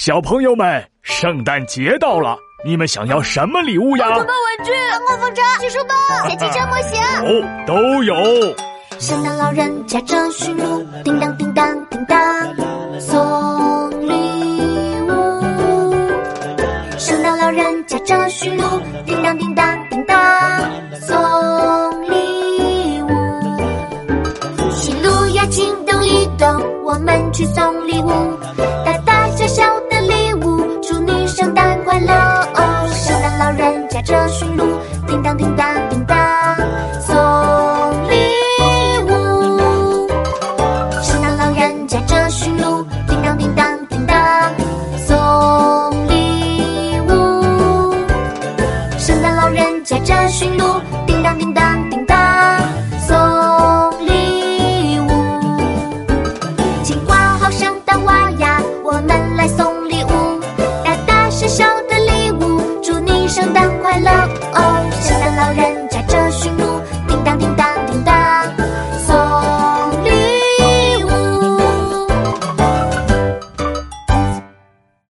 小朋友们，圣诞节到了，你们想要什么礼物呀？ 奥特曼玩具、 刮风车、技术棒、小汽车模型。 哦，都有。 圣诞老人驾着驯鹿，叮当叮当叮当，送礼物。圣诞老人驾着驯鹿，叮当叮当叮当，送礼物。驯鹿呀，请动一动，我们去送礼物，大大小小的礼物，祝你圣诞快乐哦！圣诞老人驾着驯鹿，叮当叮当叮当，送礼物。圣诞老人驾着驯鹿，叮当叮当叮当，送礼物。圣诞老人驾着驯鹿，叮当叮当叮当，送礼物。请挂好圣诞袜呀，我们来送礼物，大大小小的礼物，祝你圣诞快乐哦！圣诞老人